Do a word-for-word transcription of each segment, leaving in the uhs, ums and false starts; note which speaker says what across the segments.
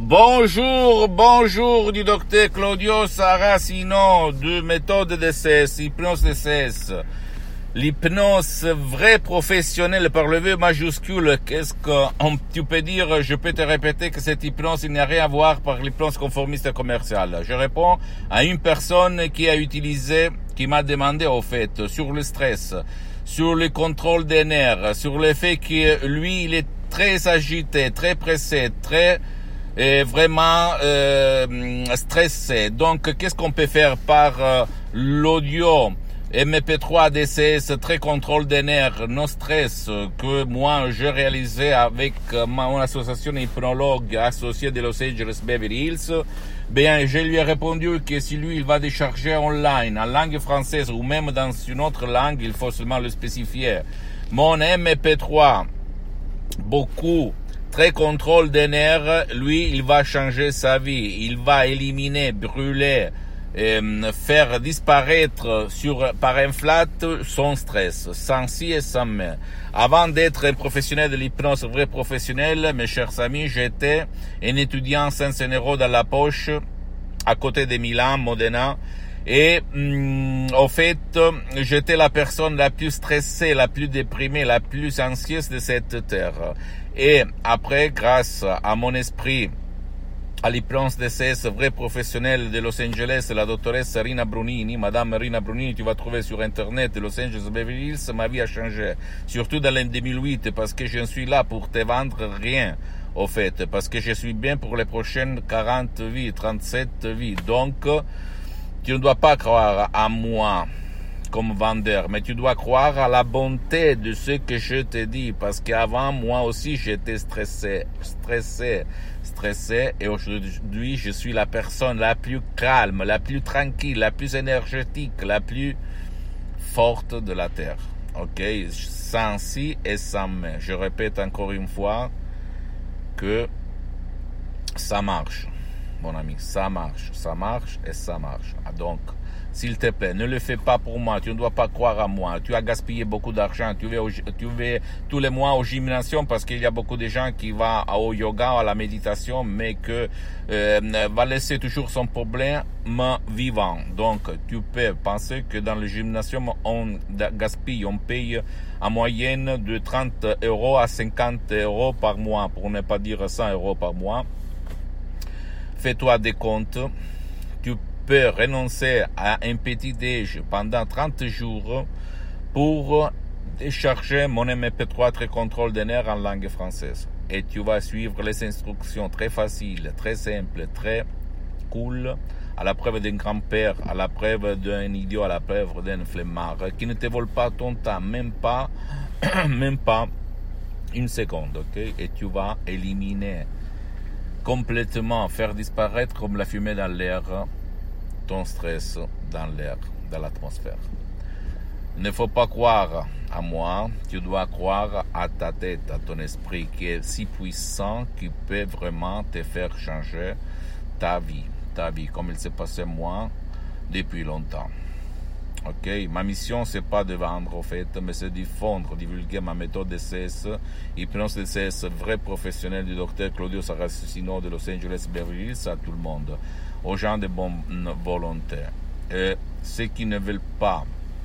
Speaker 1: Bonjour, bonjour du docteur Claudio Saracino de méthode D C S, hypnose D C S. L'hypnose vraie professionnelle par le V majuscule, qu'est-ce que tu peux dire? Je peux te répéter que cette hypnose, il n'y a rien à voir par l'hypnose conformiste commerciale. Je réponds à une personne qui a utilisé, qui m'a demandé au fait, sur le stress, sur le contrôle des nerfs, sur le fait que lui, il est très agité, très pressé, très euh, vraiment euh, stressé. Donc, qu'est-ce qu'on peut faire par euh, l'audio M P trois D C S, très contrôle des nerfs, no stress, que moi j'ai réalisé avec mon association hypnologue associée de Los Angeles Beverly Hills. Bien, je lui ai répondu que si lui il va décharger online en langue française ou même dans une autre langue, il faut seulement le spécifier. Mon M P trois, beaucoup, très contrôle des nerfs, lui il va changer sa vie, il va éliminer, brûler, Euh, faire disparaître sur, par un flat son stress, sans si et sans mais. Avant d'être un professionnel de l'hypnose, vrai professionnel, mes chers amis, j'étais un étudiant cinq cents euros dans la poche, à côté de Milan, Modena, et hum, au fait, j'étais la personne la plus stressée, la plus déprimée, la plus anxieuse de cette terre. Et après, grâce à mon esprit, à l'hypnose D C S, vrai professionnel de Los Angeles, la doctoresse Rina Brunini, Madame Rina Brunini, tu vas trouver sur Internet, Los Angeles Beverly Hills, ma vie a changé. Surtout dans l'année deux mille huit, parce que je suis là pour te vendre rien, au fait, parce que je suis bien pour les prochaines quarante vies, trente-sept vies. Donc, tu ne dois pas croire à moi comme vendeur, mais tu dois croire à la bonté de ce que je te dis, parce qu'avant, moi aussi, j'étais stressé, stressé, stressé, et aujourd'hui, je suis la personne la plus calme, la plus tranquille, la plus énergétique, la plus forte de la Terre. Ok? Sans si et sans mais. Je répète encore une fois que ça marche, mon ami, ça marche, ça marche et ça marche. Ah, donc, s'il te plaît, ne le fais pas pour moi, tu ne dois pas croire à moi, tu as gaspillé beaucoup d'argent, tu vas, au, tu vas tous les mois au gymnasium parce qu'il y a beaucoup de gens qui vont au yoga, à la méditation, mais que euh, va laisser toujours son problème vivant. Donc, tu peux penser que dans le gymnasium, on gaspille, on paye en moyenne de trente euros à cinquante euros par mois, pour ne pas dire cent euros par mois. Fais-toi des comptes, tu peux renoncer à un petit déj pendant trente jours pour décharger mon M P trois très contrôle des nerfs en langue française. Et tu vas suivre les instructions très faciles, très simples, très cool, à la preuve d'un grand-père, à la preuve d'un idiot, à la preuve d'un flemmard, qui ne te vole pas ton temps, même pas, même pas une seconde, ok? Et tu vas éliminer complètement, faire disparaître comme la fumée dans l'air, ton stress dans l'air, dans l'atmosphère. Il ne faut pas croire à moi, tu dois croire à ta tête, à ton esprit qui est si puissant qu'il peut vraiment te faire changer ta vie, ta vie, comme il s'est passé moi depuis longtemps. Ok, ma mission c'est pas de vendre au fait, mais c'est diffondre, divulguer ma méthode D C S, hypnose D C S, vrai professionnel du docteur Claudio Saracino de Los Angeles Beverly Hills, à tout le monde, aux gens de bonne volonté. Et ceux qui ne veulent pas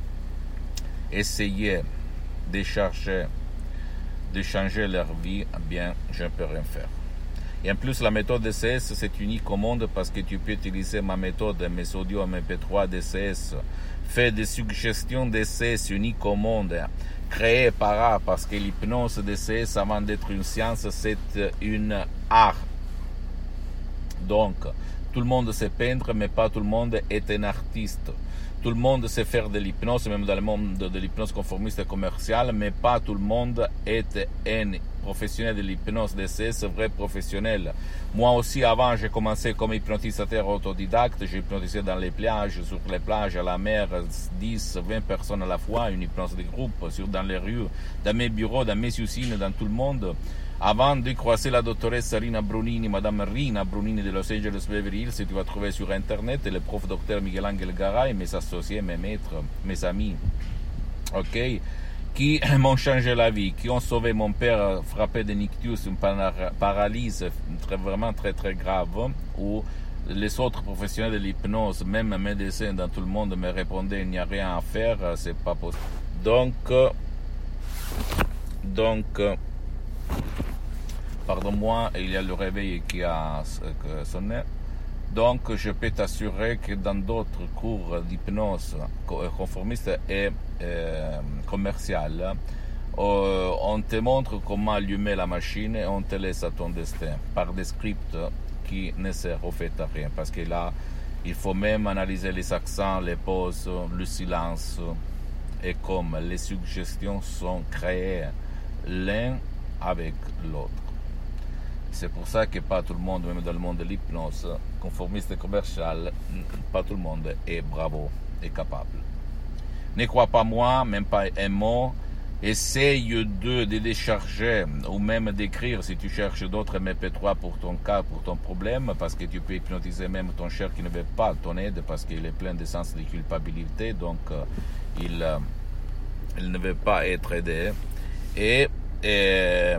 Speaker 1: essayer de chercher, de changer leur vie, eh bien, je ne peux rien faire. Et en plus, la méthode D C S, c'est unique au monde parce que tu peux utiliser ma méthode, mes audios M P trois D C S, fait des suggestions D C S uniques au monde, créées par art, parce que l'hypnose D C S, avant d'être une science, c'est une art. Donc, tout le monde sait peindre, mais pas tout le monde est un artiste. Tout le monde sait faire de l'hypnose, même dans le monde de l'hypnose conformiste et commerciale, mais pas tout le monde est un professionnel de l'hypnose D C S, vrai professionnel. Moi aussi, avant, j'ai commencé comme hypnotisateur autodidacte, j'ai hypnotisé dans les plages, sur les plages, à la mer, dix, vingt personnes à la fois, une hypnose de groupe, sur, dans les rues, dans mes bureaux, dans mes usines, dans tout le monde. Avant de croiser la doctoresse Rina Brunini, Madame Rina Brunini de Los Angeles Beverly Hills, tu vas trouver sur Internet, et le prof docteur Miguel Angel Garay, mes associés, mes maîtres, mes amis. Ok? qui m'ont changé la vie, qui ont sauvé mon père frappé de nictus, une paralysie très, vraiment très très grave, où les autres professionnels de l'hypnose, même médecins dans tout le monde, me répondaient il n'y a rien à faire, c'est pas possible. Donc, donc, pardon-moi, il y a le réveil qui a sonné. Donc, je peux t'assurer que dans d'autres cours d'hypnose conformiste et euh, commerciale, euh, on te montre comment allumer la machine et on te laisse à ton destin par des scripts qui ne servent au fait à rien. Parce que là, il faut même analyser les accents, les pauses, le silence. Et comme les suggestions sont créées l'un avec l'autre. C'est pour ça que pas tout le monde, même dans le monde de l'hypnose, conformiste et commercial, pas tout le monde est bravo et capable. Ne crois pas moi, même pas un mot. Essaye de, de décharger ou même d'écrire si tu cherches d'autres M P trois pour ton cas, pour ton problème, parce que tu peux hypnotiser même ton cher qui ne veut pas ton aide parce qu'il est plein de sens de culpabilité, donc euh, il, euh, il ne veut pas être aidé. Et, et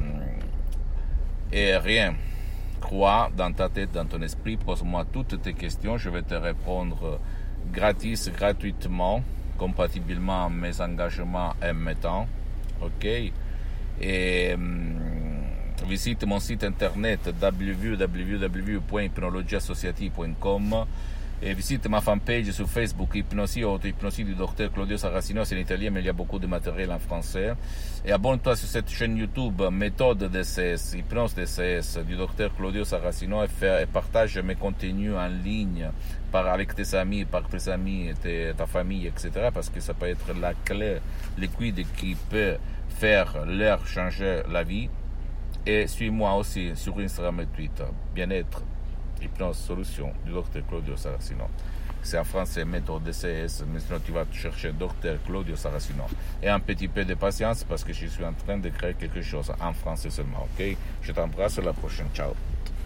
Speaker 1: Et rien. Crois dans ta tête, dans ton esprit, pose-moi toutes tes questions, je vais te répondre gratis, gratuitement, compatiblement à mes engagements et mes temps. Ok? Et hum, visite mon site internet w w w point hypnologie associative point com et visite ma fanpage sur Facebook, Hypnosie ou Auto-Hypnosie du docteur Claudio Saracino, c'est en italien, mais il y a beaucoup de matériel en français. Et abonne-toi sur cette chaîne YouTube, Méthode D C S, Hypnose D C S, du docteur Claudio Saracino, et, fait, et partage mes contenus en ligne par, avec tes amis, par tes amis, tes, ta famille, et cetera, parce que ça peut être la clé liquide qui peut faire leur changer la vie. Et suis-moi aussi sur Instagram et Twitter, Bien-être, Hypnose Solution du docteur Claudio Saracino. C'est en français méthode D C S, mais sinon tu vas chercher docteur Claudio Saracino. Et un petit peu de patience parce que je suis en train de créer quelque chose en français seulement, ok? Je t'embrasse, à la prochaine, ciao.